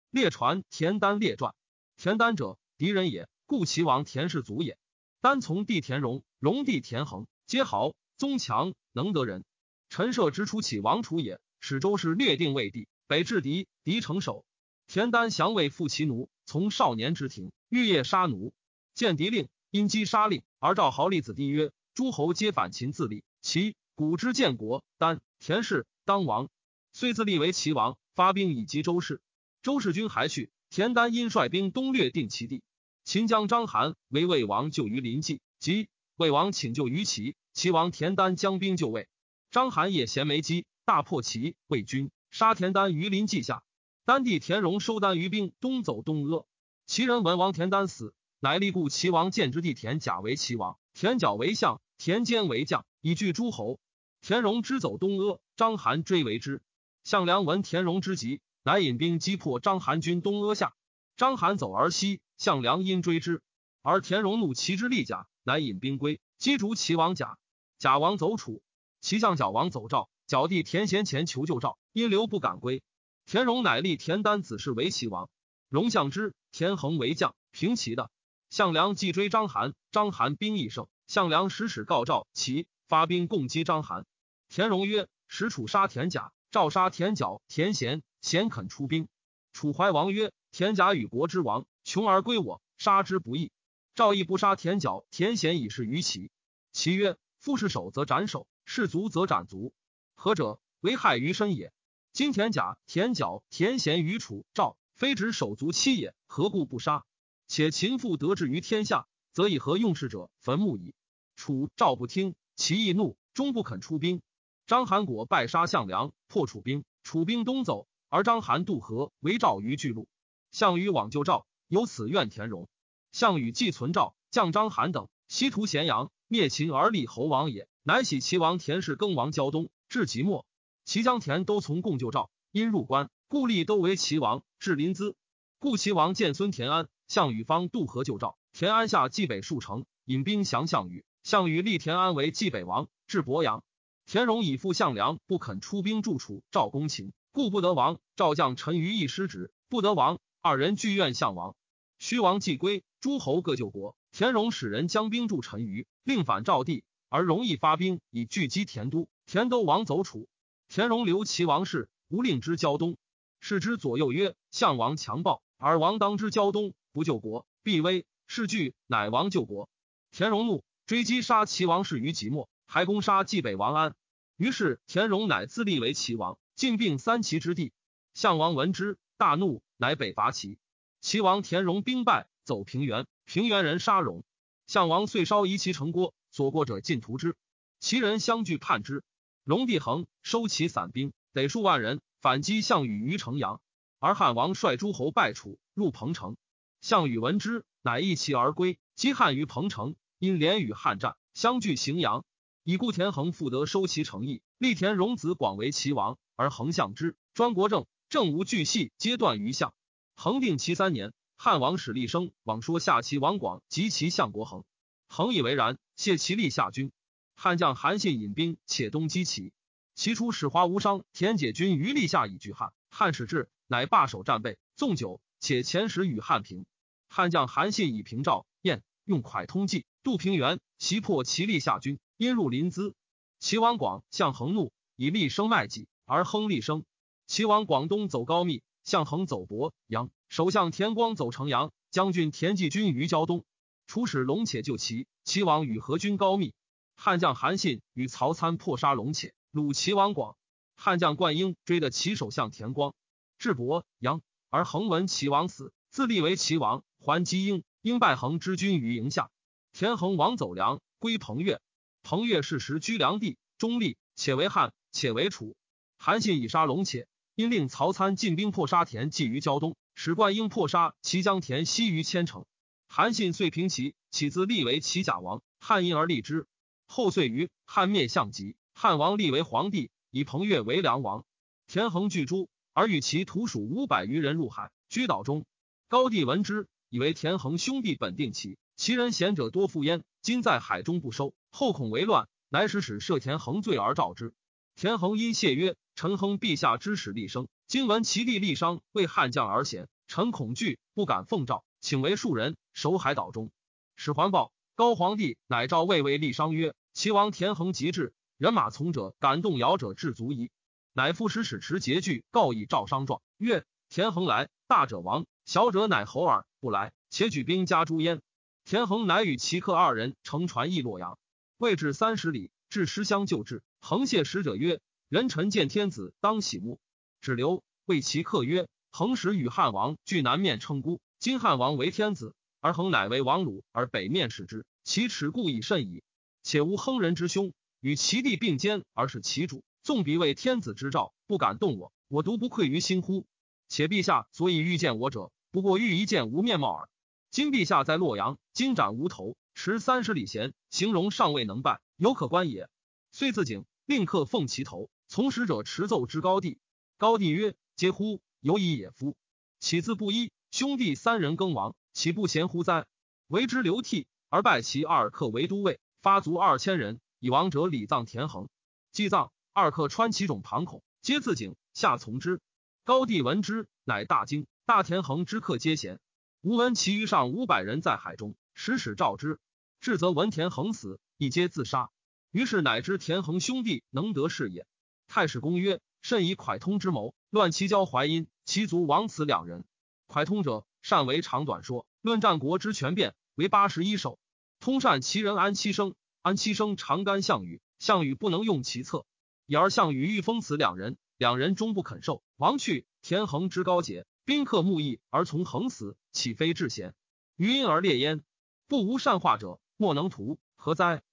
列传田丹列传。田丹者，敌人也，故齐王田氏族也。丹从弟田荣，荣弟田横，皆豪，宗强，能得人。陈涉之初起王楚也，使周氏略定魏地，北至狄，狄成守。田丹降魏复其奴，从少年之庭，欲夜杀奴，见敌令，因击杀令，而召豪立子弟曰：诸侯皆反秦自立，其古之建国，丹田氏当王，遂自立为齐王，发兵以击周氏。周氏军还去，田丹因率兵东略定其地。秦将章邯为魏王救于临济，即魏王请救于齐，齐王田丹将兵救魏。章邯也衔枚击，大破齐魏军，杀田丹于临济下。丹弟田荣收丹于兵，东走东阿。齐人闻王田丹死，乃立故齐王建之弟田甲为齐王，田角为相，田坚为将，以拒诸侯。田荣之走东阿，章邯追为之。项梁闻田荣之急，乃引兵击破章邯军东阿下。章邯走而西，项梁因追之，而田荣怒齐之力甲，乃引兵归，击逐齐王甲。甲王走楚，齐相角王走赵，角弟田贤前求救赵，因留不敢归。田荣乃立田丹子氏为齐王，荣相之，田横为将，平齐的。项梁既追章邯，章邯兵亦胜，项梁使告赵齐，发兵共击章邯。田荣曰：使楚杀田甲，赵杀田角、田贤，贤肯出兵。楚怀王曰：田甲与国之王，穷而归我，杀之不义。赵亦不杀田角、田贤以示于齐。齐曰：夫是手则斩首，是足则斩足，何者？为害于身也。今田甲、田角、田贤于楚、赵，非指手足妻也，何故不杀？且秦父得志于天下，则以何用事者坟墓矣。楚、赵不听，齐亦怒，终不肯出兵。章邯果败杀项梁，破楚兵，楚兵东走，而章邯渡河，围赵于巨鹿。项羽往救赵，由此怨田荣。项羽既存赵，将章邯等，西屠咸阳，灭秦而立侯王也，乃喜齐王田氏更王胶东，至即墨。齐将田都从共救赵，因入关，故立都为齐王，至临淄。故齐王见孙田安，项羽方渡河救赵，田安下冀北数城，引兵降项羽。项羽立田安为冀北王，至鄱阳。田荣以父项梁不肯出兵助楚，赵攻秦，故不得王。赵将陈余亦失职，不得王，二人俱怨项王。虚王既归，诸侯各救国。田荣使人将兵助陈余，令反赵地，而荣亦发兵以拒击田都。田都王走楚。田荣留齐王室，无令之胶东。是之左右曰：项王强暴，而王当之胶东，不救国，必危。是惧，乃王救国。田荣怒，追击杀齐王室于即墨，还攻杀冀北王安。于是田荣乃自立为齐王，进并三齐之地。项王闻之，大怒，乃北伐齐。齐王田荣兵败，走平原，平原人杀荣。项王遂烧夷其城郭，所过者尽屠之。齐人相聚叛之。荣帝恒收其散兵，得数万人，反击项羽于城阳。而汉王率诸侯败楚，入彭城。项羽闻之，乃一骑而归，击汉于彭城，因连与汉战，相聚荥阳。以故田横复得收其城邑，立田荣子广为齐王，而恒相之，专国政，政无巨细，皆断于项。恒定其3年，汉王使厉声往说下齐王广及其相国恒，恒以为然，谢其立下军。汉将韩信引兵且东击齐，齐出使华无伤田解军于立下以拒汉。汉使至，乃罢守战备，纵酒，且遣使与汉平。汉将韩信以平赵、燕，用蒯通计，渡平原，袭破齐立下军，因入临淄。齐王广向恒怒，以厉声卖己，而亨厉声。齐王广东走高密，向恒走鄱阳，首相田光走城阳，将军田忌军于胶东。出使龙且救齐，齐王与何军高密。汉将韩信与曹参破杀龙且，虏齐王广。汉将灌婴追得齐首相田光，至鄱阳，而恒闻齐王死，自立为齐王，还击婴，婴败恒之军于营下。田横王走梁，归彭越。彭越是时居梁地，中立，且为汉，且为楚。韩信以杀龙且，因令曹参进兵破杀田忌于胶东，使灌婴破杀齐将田西于千城。韩信遂平齐，起自立为齐甲王，汉因而立之。后遂于汉灭项籍，汉王立为皇帝，以彭越为梁王。田横拒诸，而与其徒属500余人入海，居岛中。高帝闻之，以为田横兄弟本定齐，其人贤者多附焉，今在海中不收，后恐为乱，乃使赦田横罪而召之。田横因谢曰：臣亨陛下之使立生，今闻其弟立商为汉将而贤， 臣恐惧，不敢奉诏，请为庶人，守海岛中。使还报，高皇帝乃诏魏为立商曰：齐王田横极至，人马从者，敢动摇者至足矣。乃副使持节具告以诏商状，曰：田横来，大者亡，小者乃侯耳；不来，且举兵加诛焉。田横乃与齐客2人乘船诣洛阳，未至30里，至师乡就至。横谢使者曰：人臣见天子，当喜目。只留谓齐客曰：横时与汉王据南面称孤，今汉王为天子，而横乃为王鲁，而北面使之，其耻故已甚矣。且无亨人之兄，与齐地并肩，而是其主，纵彼为天子之兆，不敢动我，我独不愧于心乎？且陛下所以欲见我者，不过欲一见无面貌耳。今陛下在洛阳，金斩无头，持30里弦，形容尚未能拜，犹可观也。遂自警，令客奉其头，从使者持奏之高帝。高帝曰：嗟乎！有以也夫！岂自不依？兄弟3人更亡，岂不贤乎哉？为之流涕，而拜其2客为都尉，发卒2000人，以亡者礼葬田横。祭葬，2客穿其种庞孔，皆自警，下从之。高帝闻之，乃大惊。大田横之客皆贤。吾闻其余上500人在海中，使召之，至则闻田横死，亦皆自杀。于是乃知田横兄弟能得事也。太史公曰：甚以蒯通之谋，乱其交淮阴，其族亡此2人。蒯通者，善为长短说，论战国之权变，为81首。通善其人安七生，安七生常干项羽，项羽不能用其策，已而项羽欲封此2人，2人终不肯受。王去，田横之高洁，宾客慕义而从横死，岂非至贤？余因而列焉。不无善化者，莫能图，何哉？